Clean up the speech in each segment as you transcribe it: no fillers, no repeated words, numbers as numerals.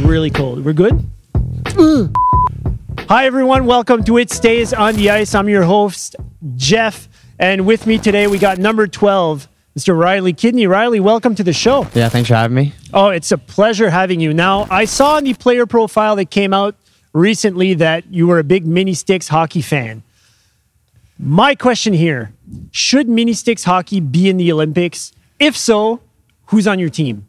really cold. We're good? Hi, everyone. Welcome to It Stays on the Ice. I'm your host, Jeff. And with me today, we got number 12, Mr. Riley Kidney. Riley, welcome to the show. Yeah, thanks for having me. Oh, it's a pleasure having you. Now, I saw in the player profile that came out recently that you were a big Mini Sticks hockey fan. My question here, should Mini Sticks hockey be in the Olympics? If so, who's on your team?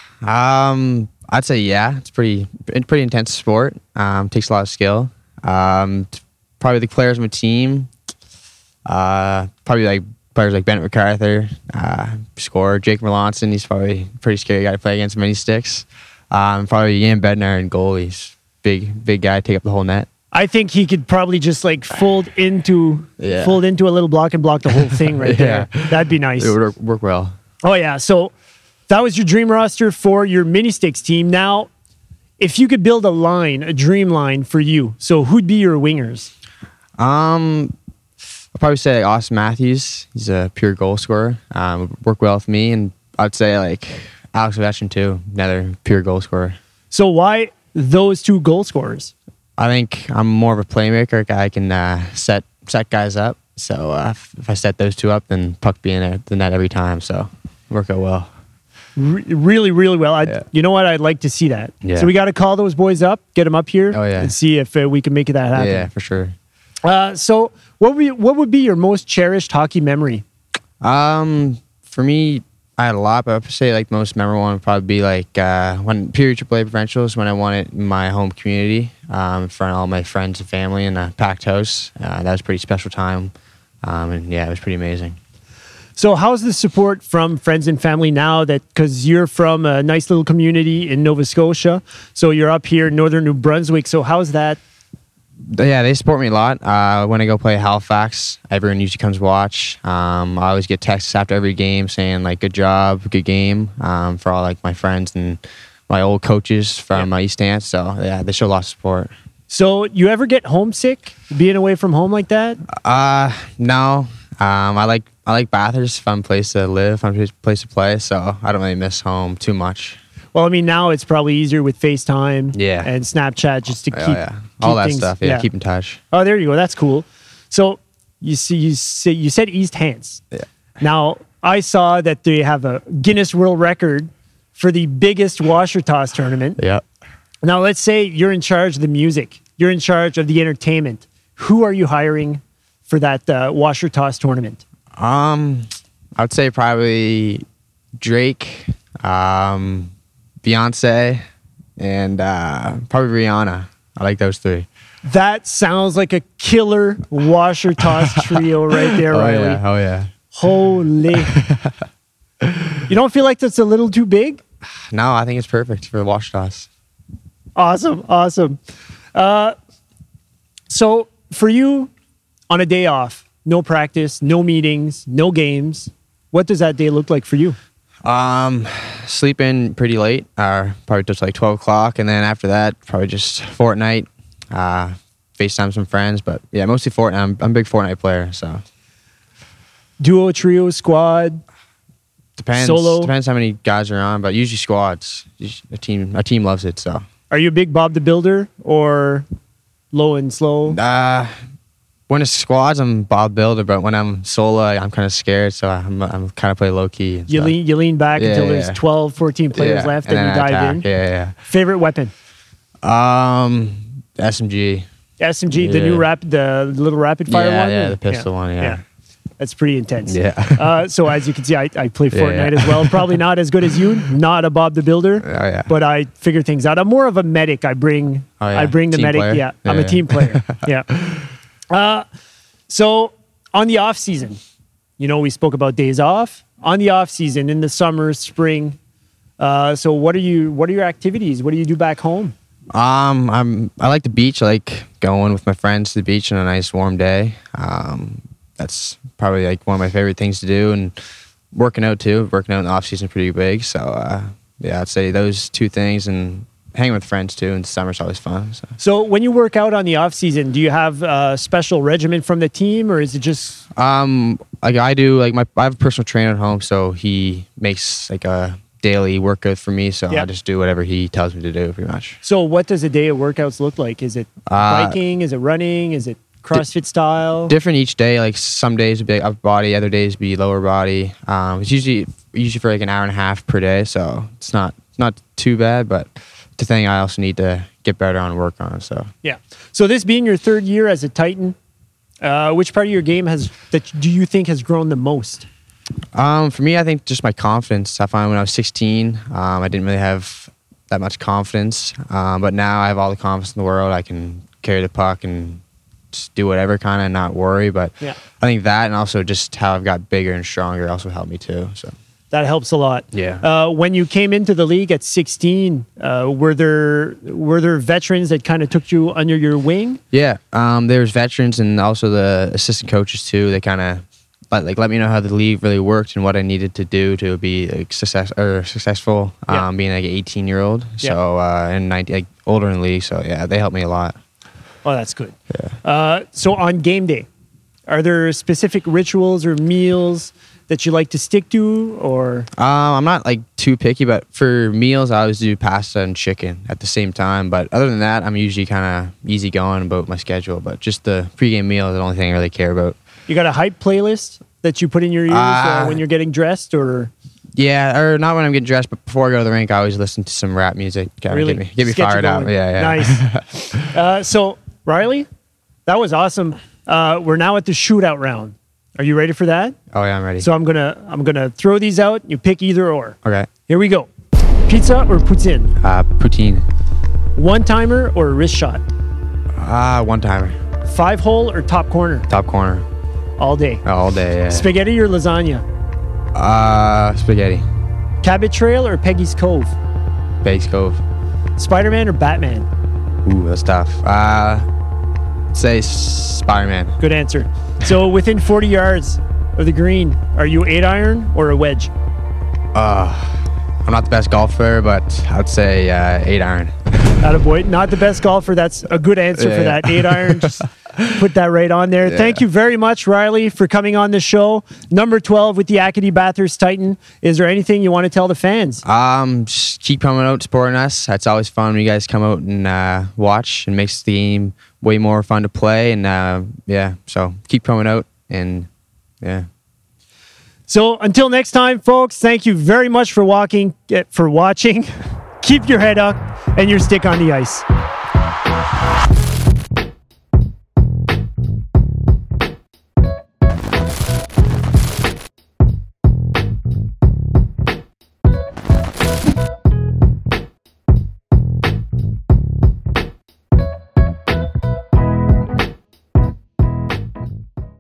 I'd say yeah. It's pretty intense sport. Takes a lot of skill. Probably the players on my team. Probably like players like Bennett MacArthur, scorer Jake Merlonson. He's probably a pretty scary guy to play against Mini Sticks. Probably Jan Bednar and goalies. Big guy, take up the whole net. I think he could probably just like fold into a little block and block the whole thing right there. That'd be nice. It would work well. Oh yeah. So that was your dream roster for your Mini Sticks team. Now, if you could build a dream line for you, so who'd be your wingers? I'll probably say like Austin Matthews. He's a pure goal scorer. Would work well with me, and I'd say like Alex Ovechkin too, another pure goal scorer. So why those two goal scorers? I think I'm more of a playmaker. I can set guys up. So if I set those two up, then puck be in the net every time. So work out well. Really, really well. You know what? I'd like to see that. Yeah. So we got to call those boys up, get them up here, Oh, yeah. and see if we can make that happen. Yeah, for sure. So what would be your most cherished hockey memory? For me, I had a lot, but I'd say like the most memorable one would probably be like when period AAA provincials, when I won it in my home community in front of all my friends and family in a packed house. That was a pretty special time, and yeah, it was pretty amazing. So how's the support from friends and family now because you're from a nice little community in Nova Scotia, so you're up here in northern New Brunswick. So how's that? Yeah, they support me a lot. When I go play Halifax, everyone usually comes watch. I always get texts after every game saying like, good job, good game, for all like my friends and my old coaches from East Ants. So yeah, they show a lot of support. So you ever get homesick being away from home like that? No. I like Bathurst, fun place to live, fun place to play. So I don't really miss home too much. Well, I mean, now it's probably easier with FaceTime and Snapchat just to keep all that things, stuff. Yeah, keep in touch. Oh, there you go. That's cool. So you said East Hants. Yeah. Now I saw that they have a Guinness World Record for the biggest washer toss tournament. Yeah. Now let's say you're in charge of the music. You're in charge of the entertainment. Who are you hiring for that washer toss tournament? I would say probably Drake, Beyonce, and probably Rihanna. I like those three. That sounds like a killer washer toss trio right there, Riley. Oh yeah. Holy. You don't feel like that's a little too big? No, I think it's perfect for the wash toss. Awesome. So for you, on a day off, no practice, no meetings, no games, what does that day look like for you? Sleep in pretty late, probably just like 12 o'clock. And then after that, probably just Fortnite, FaceTime some friends. But yeah, mostly Fortnite. I'm a big Fortnite player, so. Duo, trio, squad? Depends. Solo? Depends how many guys are on, but usually squads. A team loves it, so. Are you a big Bob the Builder or low and slow? When it's squads, I'm Bob Builder, but when I'm solo, I'm kind of scared, so I'm kind of play low key. You lean back until there's 12, 14 players left, and you dive in. Yeah. Favorite weapon? SMG. SMG, the new the little rapid fire one. Yeah, the pistol one. Yeah. That's pretty intense. Yeah. So as you can see, I play Fortnite as well. Probably not as good as you. Not a Bob the Builder. Oh, yeah. But I figure things out. I'm more of a medic. I bring the team medic. Player. Yeah. I'm a team player. Yeah. So on the off season, we spoke about days off. On the off season, in the summer, spring. So what are your activities? What do you do back home? I like the beach. I like going with my friends to the beach on a nice warm day. That's probably like one of my favorite things to do, and working out too. Working out in the off season is pretty big. So I'd say those two things, and hanging with friends too in the summer's always fun. So when you work out on the off season, do you have a special regimen from the team, or is it just like I do, like I have a personal trainer at home, so he makes like a daily workout for me, so Yeah. I just do whatever he tells me to do, pretty much. So what does a day of workouts look like? Is it biking? Is it running? Is it CrossFit style? Different each day. Like some days would be like upper body, other days would be lower body. It's usually for like an hour and a half per day, so it's not too bad. But the thing I also need to get better on and work on. So Yeah. So this being your third year as a Titan, which part of your game do you think has grown the most? for me, I think just my confidence. I find when I was 16, I didn't really have that much confidence, but now I have all the confidence in the world. I can carry the puck and just do whatever, kind of not worry. But Yeah. I think that, and also just how I've got bigger and stronger, also helped me too. So That helps a lot. Yeah. When you came into the league at 16, were there veterans that kind of took you under your wing? yeah, there's veterans and also the assistant coaches too. They kind of let me know how the league really worked and what I needed to do to be successful. Yeah. Being like an 18-year-old, Yeah. so and 19, like older in the league. So yeah, they helped me a lot. Oh, that's good. Yeah. So on game day, are there specific rituals or meals that you like to stick to, or? I'm not like too picky, but for meals, I always do pasta and chicken at the same time. But other than that, I'm usually kind of easy going about my schedule. But just the pregame meal is the only thing I really care about. You got a hype playlist that you put in your ears when you're getting dressed, or? Yeah, or not when I'm getting dressed, but before I go to the rink, I always listen to some rap music. Kinda Really? get me Just get you fired up. going. Yeah, yeah. Nice. So, Riley, that was awesome. We're now at the shootout round. Are you ready for that? Oh yeah, I'm ready. So I'm gonna throw these out. You pick either or. Okay. Here we go. Pizza or poutine? Poutine. One timer or a wrist shot? One timer. 5-hole or top corner? Top corner. All day. All day, yeah. Spaghetti or lasagna? Spaghetti. Cabot Trail or Peggy's Cove? Base Cove. Spider-Man or Batman? Ooh, that's tough. Say Spider-Man. Good answer. So within 40 yards of the green, are you 8-iron or a wedge? I'm not the best golfer, but I'd say 8-iron. Attaboy. Not the best golfer. That's a good answer for that. 8-iron. Just put that right on there. Yeah. Thank you very much, Riley, for coming on the show. Number 12 with the Acadie Bathurst Titan. Is there anything you want to tell the fans? Just keep coming out, supporting us. It's always fun when you guys come out and watch, and makes the game way more fun to play. And yeah, so keep coming out, and yeah. So until next time, folks, thank you very much for watching. Keep your head up and your stick on the ice.